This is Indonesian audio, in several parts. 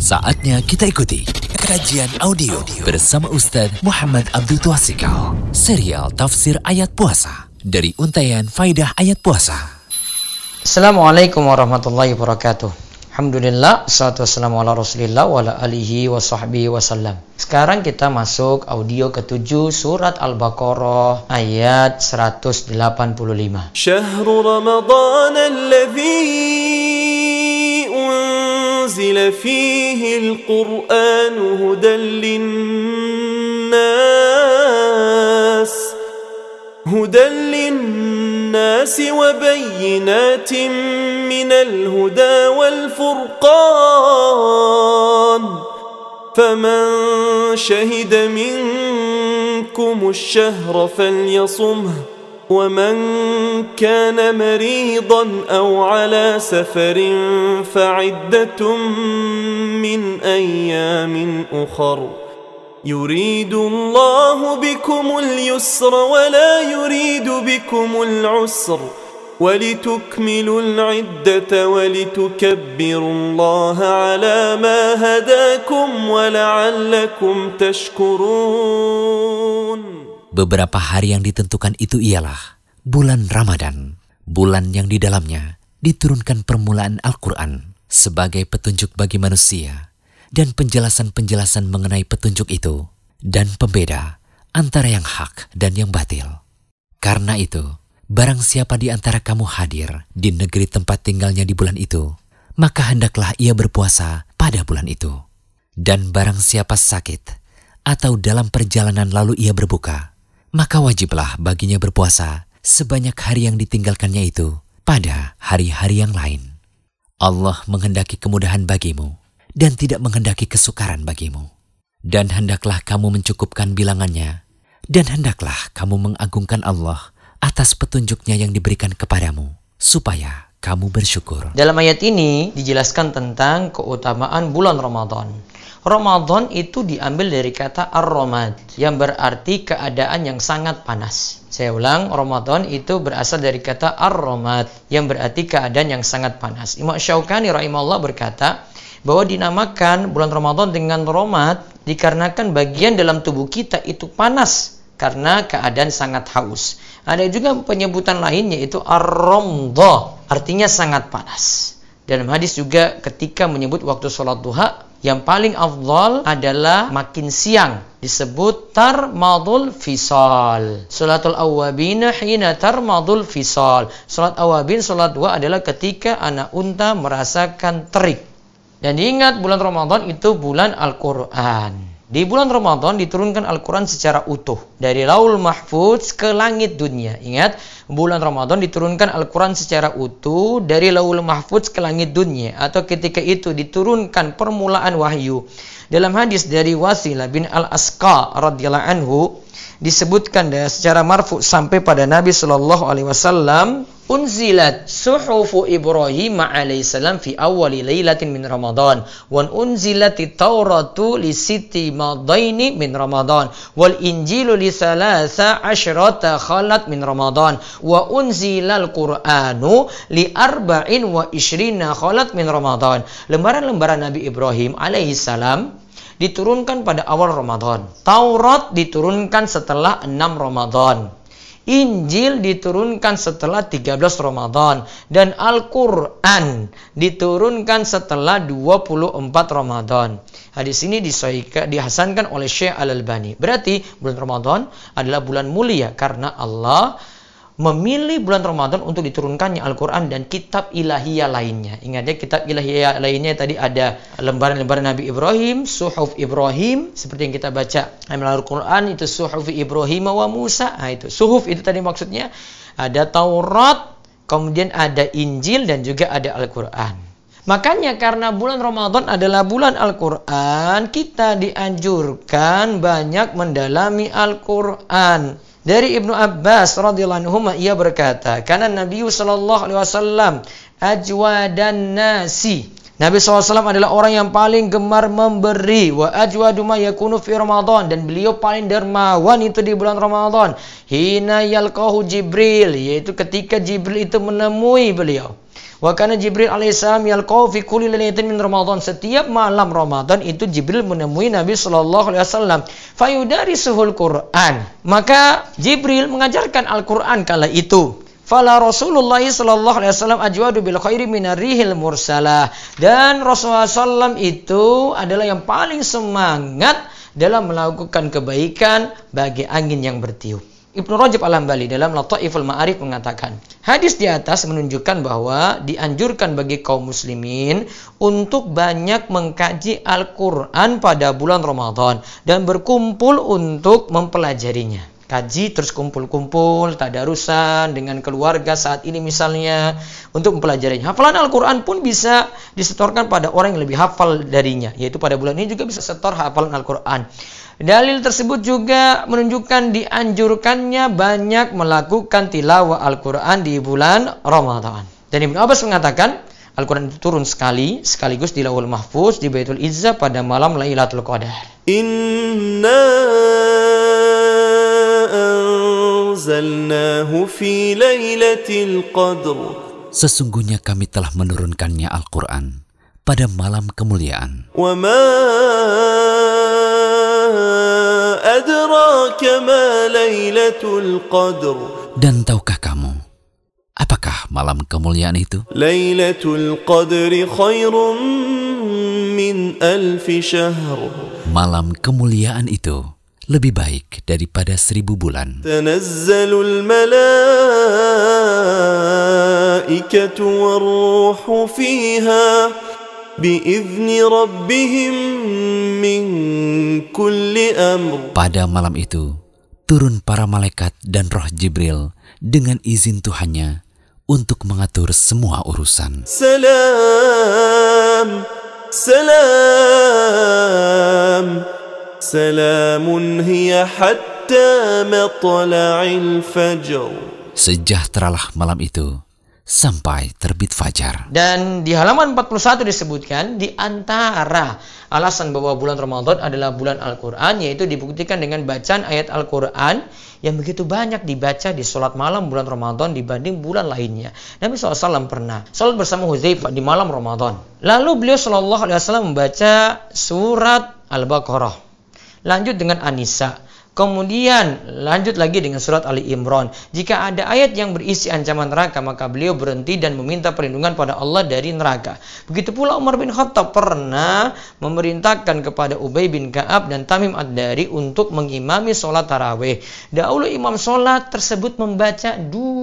Saatnya kita ikuti kajian audio bersama Ustaz Muhammad Abdul Twasikal. Serial Tafsir Ayat Puasa dari Untaian Faidah Ayat Puasa. Assalamualaikum warahmatullahi wabarakatuh. Alhamdulillah, salatu wassalamu ala rasulillah wa ala alihi wa sahbihi wasallam. Sekarang kita masuk audio ke-7 surat Al-Baqarah ayat 185. Syahrul Ramadan alladhi unzila fihi al-Qur'an hudan linnas wa bayyinatin minal huda wal furqan faman shahida minkum ash-shahra falyasumhu ومن كان مريضا أو على سفر فعدة من أيام أخر يريد الله بكم اليسر ولا يريد بكم العسر ولتكملوا العدة ولتكبروا الله على ما هداكم ولعلكم تشكرون. Beberapa hari yang ditentukan itu ialah bulan Ramadan, bulan yang di dalamnya diturunkan permulaan Al-Quran sebagai petunjuk bagi manusia dan penjelasan-penjelasan mengenai petunjuk itu dan pembeda antara yang hak dan yang batil. Karena itu, barang siapa di antara kamu hadir di negeri tempat tinggalnya di bulan itu, maka hendaklah ia berpuasa pada bulan itu. Dan barang siapa sakit atau dalam perjalanan lalu ia berbuka, maka wajiblah baginya berpuasa sebanyak hari yang ditinggalkannya itu pada hari-hari yang lain. Allah menghendaki kemudahan bagimu dan tidak menghendaki kesukaran bagimu. Dan hendaklah kamu mencukupkan bilangannya, dan hendaklah kamu mengagungkan Allah atas petunjuknya yang diberikan kepadamu, supaya kamu bersyukur. Dalam ayat ini dijelaskan tentang keutamaan bulan Ramadan. Ramadan itu diambil dari kata ar-ramad yang berarti keadaan yang sangat panas. Saya ulang, Ramadan itu berasal dari kata ar-ramad yang berarti keadaan yang sangat panas. Imam Syaukani rahimahullah berkata bahwa dinamakan bulan Ramadan dengan ramad dikarenakan bagian dalam tubuh kita itu panas karena keadaan sangat haus. Ada juga penyebutan lain yaitu ar-ramdah, artinya sangat panas. Dalam hadis juga ketika menyebut waktu sholat duha, yang paling afdal adalah makin siang, disebut tarmadul fisal. Salatul awwabina hina tarmadul fisal. Salat awabin, salat duha adalah ketika anak unta merasakan terik. Dan diingat bulan Ramadan itu bulan Al-Quran. Di bulan Ramadan diturunkan Al-Quran secara utuh dari Laul Mahfuz ke langit dunia. Ingat, bulan Ramadan diturunkan Al-Quran secara utuh dari Laul Mahfuz ke langit dunia, atau ketika itu diturunkan permulaan wahyu. Dalam hadis dari Wasilah bin Al-Asqa radhiyallahu anhu disebutkan secara marfu sampai pada Nabi sallallahu alaihi wasallam, unzilat suhufu Ibrahim alaihissalam fi awwali lailatin min Ramadan wa unzilatit Tauratu li sitti madaini min Ramadan wal Injilu li salasa asyrata khalat min Ramadan wa unzilal Qur'anu li arba'in wa ishrina khalat min Ramadan. Lembaran-lembaran Nabi Ibrahim alaihissalam diturunkan pada awal Ramadan. Taurat diturunkan setelah 6 Ramadan. Injil diturunkan setelah 13 Ramadan. Dan Al-Quran diturunkan setelah 24 Ramadan. Hadis ini dihasankan oleh Syekh Al-Albani. Berarti bulan Ramadan adalah bulan mulia karena Allah memilih bulan Ramadan untuk diturunkannya Al-Quran dan kitab ilahiyah lainnya. Ingat ya, kitab ilahiyah lainnya tadi ada lembaran-lembaran Nabi Ibrahim, Suhuf Ibrahim, seperti yang kita baca Al-Quran itu Suhuf Ibrahim wa Musa. Nah, itu Suhuf itu tadi maksudnya ada Taurat, kemudian ada Injil dan juga ada Al-Quran. Makanya karena bulan Ramadan adalah bulan Al-Quran, kita dianjurkan banyak mendalami Al-Quran. Dari Ibnu Abbas radhiyallahu anhu ia berkata, "Kana Nabi sallallahu alaihi wasallam ajwadan nasi." Nabi SAW adalah orang yang paling gemar memberi. Wa ajwadu ma yakunu fi Ramadan. Dan beliau paling dermawan itu di bulan Ramadan. Hina yalqahu Jibril. Yaitu ketika Jibril itu menemui beliau. Wa kana Jibril alaihissalam yalqau fi kulli lailatin min Ramadan. Setiap malam Ramadan itu Jibril menemui Nabi sallallahu alaihi wasallam. Fayudarisuhul Quran. Maka Jibril mengajarkan Al-Qur'an kala itu. Fala Rasulullah sallallahu alaihi wasallam ajwadu bil khairi minar rihil mursalah. Dan Rasulullah sallallahu itu adalah yang paling semangat dalam melakukan kebaikan bagi angin yang bertiup. Ibnu Rajab Al-Hambali dalam Lataiful Ma'arif mengatakan, hadis di atas menunjukkan bahwa dianjurkan bagi kaum muslimin untuk banyak mengkaji Al-Quran pada bulan Ramadan dan berkumpul untuk mempelajarinya. Kaji terus kumpul-kumpul, tadarusan dengan keluarga saat ini misalnya untuk mempelajarinya. Hafalan Al-Quran pun bisa disetorkan pada orang yang lebih hafal darinya, yaitu pada bulan ini juga bisa setor hafalan Al-Quran. Dalil tersebut juga menunjukkan dianjurkannya banyak melakukan tilawah Al-Quran di bulan Ramadan. Dan Ibnu Abbas mengatakan, Al-Quran itu turun sekaligus di Lauhul Mahfuz di Baitul Izzah pada malam Lailatul Qadar. Inna anzalnahu fi Lailatul Qadr. Sesungguhnya kami telah menurunkannya Al-Quran pada malam kemuliaan. Wa ma adraka ma Lailatul Qadr. Dan tahukah kamu, apakah malam kemuliaan itu? Lailatul Qadri khairum min alfi syahr. Malam kemuliaan itu lebih baik daripada 1000 bulan. Tanazzalul malaikatu warruhu fiha biizni rabbihim min kulli amr. Pada malam itu turun para malaikat dan roh Jibril dengan izin Tuhannya untuk mengatur semua urusan. Salam, salam, salamun hiya hatta matla'il fajr. Sejahteralah malam itu sampai terbit fajar. Dan di halaman 41 disebutkan di antara alasan bahwa bulan Ramadan adalah bulan Al-Quran, yaitu dibuktikan dengan bacaan ayat Al-Quran yang begitu banyak dibaca di sholat malam bulan Ramadan dibanding bulan lainnya. Nabi SAW pernah sholat bersama Hudzaifah di malam Ramadan. Lalu beliau SAW membaca surat Al-Baqarah, lanjut dengan An-Nisa, kemudian lanjut lagi dengan surat Ali Imran. Jika ada ayat yang berisi ancaman neraka, maka beliau berhenti dan meminta perlindungan pada Allah dari neraka. Begitu pula Umar bin Khattab pernah memerintahkan kepada Ubay bin Ka'ab dan Tamim Ad-Dari untuk mengimami sholat tarawih. Dahulu imam sholat tersebut membaca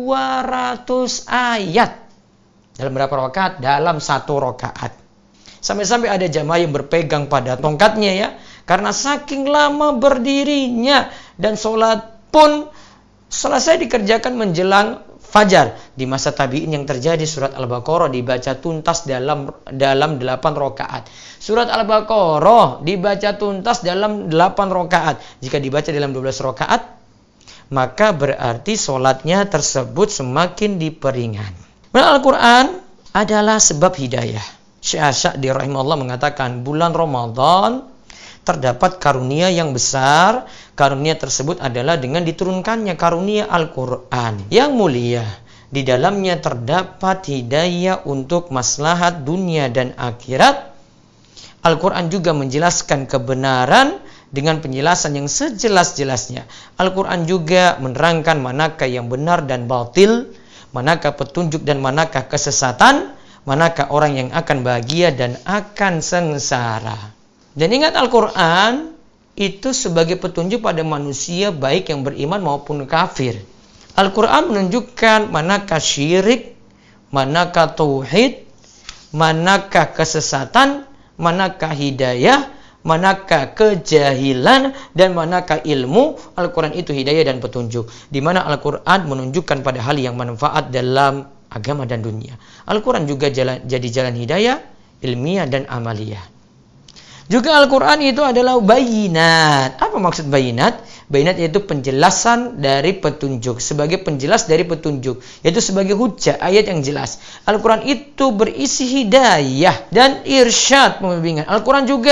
200 ayat. Dalam berapa rakaat? Dalam 1 rakaat. Sampai-sampai ada jamaah yang berpegang pada tongkatnya ya, karena saking lama berdirinya, dan sholat pun selesai dikerjakan menjelang fajar. Di masa tabi'in yang terjadi, surat Al-Baqarah dibaca tuntas dalam 8 rakaat. Surat Al-Baqarah dibaca tuntas dalam 8 rakaat. Jika dibaca dalam 12 rakaat, maka berarti sholatnya tersebut semakin diperingan. Al-Quran adalah sebab hidayah. Syekh As-Sa'di rahimahullah mengatakan, bulan Ramadan terdapat karunia yang besar. Karunia tersebut adalah dengan diturunkannya karunia Al-Quran yang mulia. Di dalamnya terdapat hidayah untuk maslahat dunia dan akhirat. Al-Quran juga menjelaskan kebenaran dengan penjelasan yang sejelas-jelasnya. Al-Quran juga menerangkan manakah yang benar dan batil, manakah petunjuk dan manakah kesesatan, manakah orang yang akan bahagia dan akan sengsara. Dan ingat, Al-Quran itu sebagai petunjuk pada manusia baik yang beriman maupun kafir. Al-Quran menunjukkan manakah syirik, manakah tauhid, manakah kesesatan, manakah hidayah, manakah kejahilan, dan manakah ilmu. Al-Quran itu hidayah dan petunjuk, di mana Al-Quran menunjukkan pada hal yang manfaat dalam agama dan dunia. Al-Quran juga jadi jalan hidayah, ilmiah dan amaliyah. Juga Al-Quran itu adalah bayinat. Apa maksud bayinat? Bayinat yaitu penjelasan dari petunjuk, sebagai penjelas dari petunjuk, yaitu sebagai hujjah, ayat yang jelas. Al-Quran itu berisi hidayah dan irsyad, pembimbingan. Al-Quran juga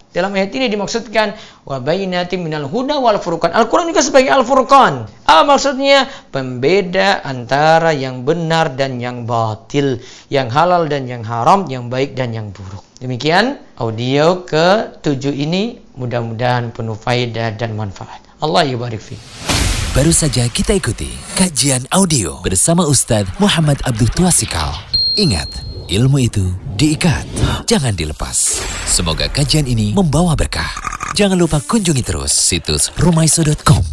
Dalam ayat ini dimaksudkan wa bayyinatin minal huda wal furqan. Al-Quran juga sebagai Al-Furqan. Apa maksudnya? Pembeda antara yang benar dan yang batil, yang halal dan yang haram, yang baik dan yang buruk. Demikian audio ke-7 ini, mudah-mudahan penuh faedah dan manfaat. Allah yubarik fiik. Baru saja kita ikuti kajian audio bersama Ustadz Muhammad Abdul Twasikal. Ingat, ilmu itu diikat, jangan dilepas. Semoga kajian ini membawa berkah. Jangan lupa kunjungi terus situs rumaiso.com.